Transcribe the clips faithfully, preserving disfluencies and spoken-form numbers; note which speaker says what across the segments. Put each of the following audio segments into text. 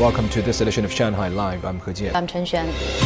Speaker 1: Welcome to this edition of Shanghai Live. I'm He Jian.
Speaker 2: I'm Chen Xuan.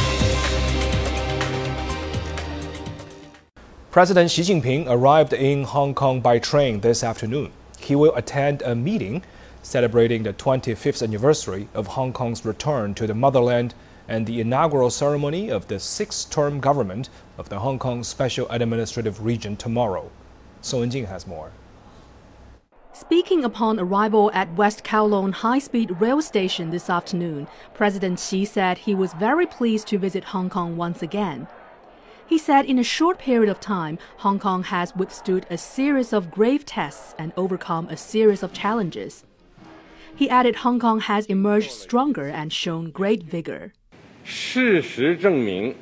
Speaker 1: President Xi Jinping arrived in Hong Kong by train this afternoon. He will attend a meeting celebrating the twenty-fifth anniversary of Hong Kong's return to the motherland and the inaugural ceremony of the sixth-term government of the Hong Kong Special Administrative Region tomorrow. Song Wenjing has more.
Speaker 3: Speaking upon arrival at West Kowloon High-Speed Rail Station this afternoon, President Xi said he was very pleased to visit Hong Kong once again. He said in a short period of time, Hong Kong has withstood a series of grave tests and overcome a series of challenges. He added Hong Kong has emerged stronger and shown great vigor.
Speaker 4: 事实证明，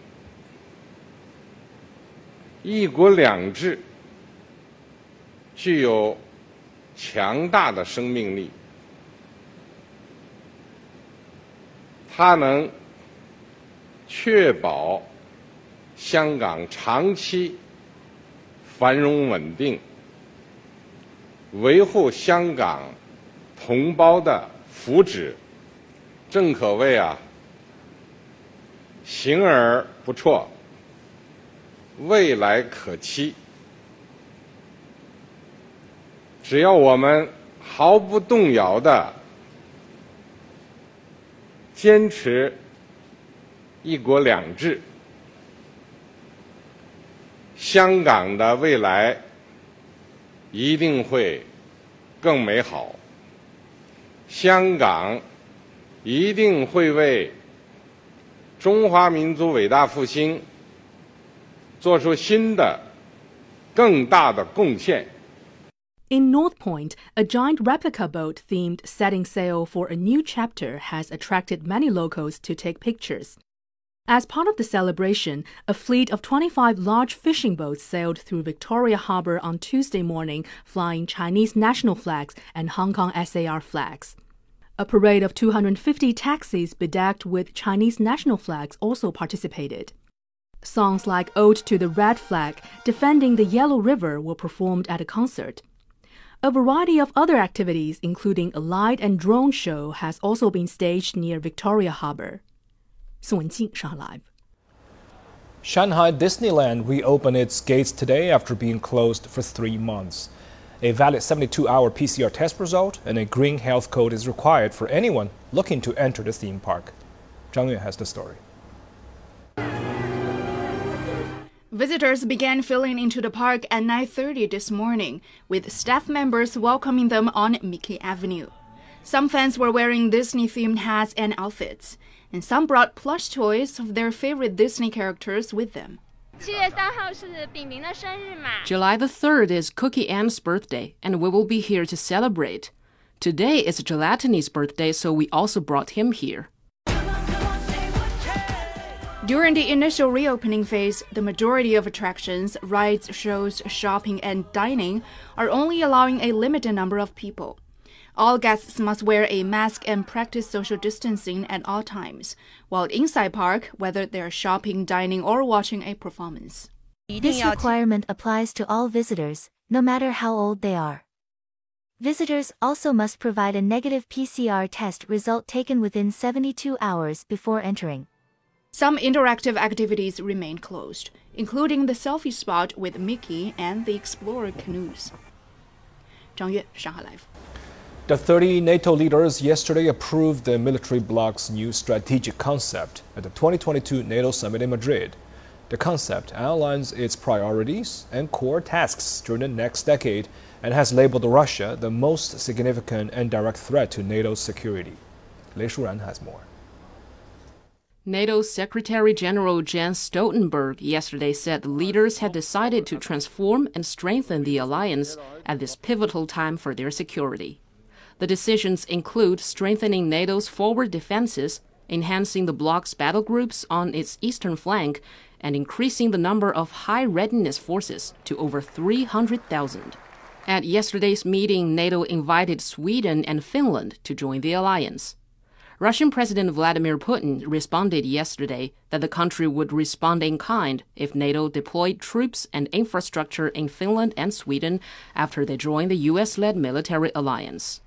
Speaker 4: 一国两制具有强大的生命力，它能确保香港长期繁荣稳定，维护香港同胞的福祉，正可谓啊，行而不辍，未来可期。只要我们毫不动摇地坚持一国两制，香港的未来一定会更美好，香港一定会为中华民族伟大复兴做出新的、更大的贡献。
Speaker 3: In North Point, a giant replica boat themed setting sail for a new chapter has attracted many locals to take pictures. As part of the celebration, a fleet of twenty-five large fishing boats sailed through Victoria Harbour on Tuesday morning, flying Chinese national flags and Hong Kong S A R flags. A parade of two hundred fifty taxis bedecked with Chinese national flags also participated. Songs like Ode to the Red Flag, Defending the Yellow River were performed at a concert. A variety of other activities, including a light and drone show, has also been staged near Victoria Harbour. Song Wenjing, Shanghai Live.
Speaker 1: Shanghai Disneyland reopened its gates today after being closed for three months. A valid seventy-two hour P C R test result and a green health code is required for anyone looking to enter the theme park. Zhang Yue has the story.
Speaker 5: Visitors began filing into the park at nine thirty this morning, with staff members welcoming them on Mickey Avenue. Some fans were wearing Disney-themed hats and outfits, and some brought plush toys of their favorite Disney characters with them.
Speaker 6: July the third is Cookie Ann's birthday, and we will be here to celebrate. Today is Gelatiny's birthday, so we also brought him here.
Speaker 5: During the initial reopening phase, the majority of attractions, rides, shows, shopping, and dining are only allowing a limited number of people. All guests must wear a mask and practice social distancing at all times, while inside park, whether they're shopping, dining, or watching a performance.
Speaker 7: This requirement applies to all visitors, no matter how old they are. Visitors also must provide a negative P C R test result taken within seventy-two hours before entering.
Speaker 5: Some interactive activities remain closed, including the selfie spot with Mickey and the Explorer canoes. Zhang Yue, Shanghai Live.
Speaker 1: The thirty NATO leaders yesterday approved the military bloc's new strategic concept at the twenty twenty-two NATO summit in Madrid. The concept outlines its priorities and core tasks during the next decade and has labeled Russia the most significant and direct threat to NATO's security. Lei Shuran has more.
Speaker 6: NATO Secretary-General Jens Stoltenberg yesterday said the leaders had decided to transform and strengthen the alliance at this pivotal time for their security. The decisions include strengthening NATO's forward defenses, enhancing the bloc's battle groups on its eastern flank, and increasing the number of high-readiness forces to over three hundred thousand. At yesterday's meeting, NATO invited Sweden and Finland to join the alliance. Russian President Vladimir Putin responded yesterday that the country would respond in kind if NATO deployed troops and infrastructure in Finland and Sweden after they joined the U S-led military alliance.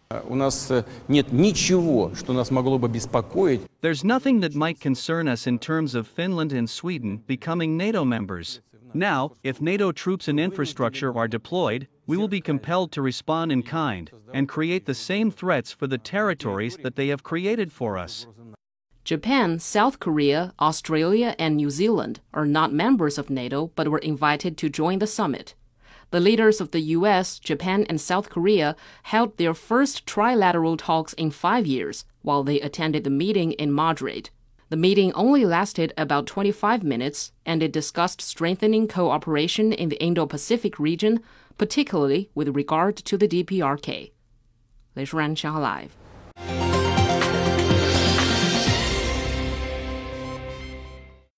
Speaker 2: У нас нет ничего, что нас могло бы беспокоить.
Speaker 8: There's nothing that might concern us in terms of Finland and Sweden becoming NATO members. Now, if NATO troops and infrastructure are deployed, we will be compelled to respond in kind and create the same threats for the territories that they have created for us.
Speaker 6: Japan, South Korea, Australia, and New Zealand are not members of NATO but were invited to join the summit. The leaders of the U S, Japan, and South Korea held their first trilateral talks in five years while they attended the meeting in Madrid. The meeting only lasted about twenty-five minutes, and it discussed strengthening cooperation in the Indo-Pacific region, particularly with regard to the D P R K. 雷淑然，上海 Live。